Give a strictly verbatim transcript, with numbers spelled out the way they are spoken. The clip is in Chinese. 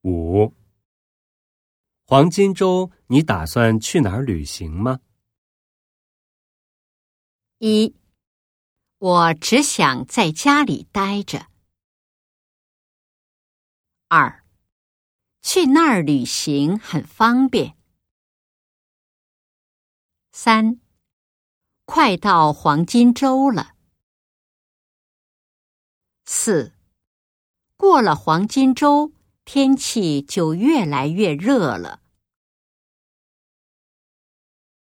五，黄金周你打算去哪儿旅行吗？ 一，我只想在家里待着。二，去那儿旅行很方便。三，快到黄金周了。四，过了黄金周，天气就越来越热了。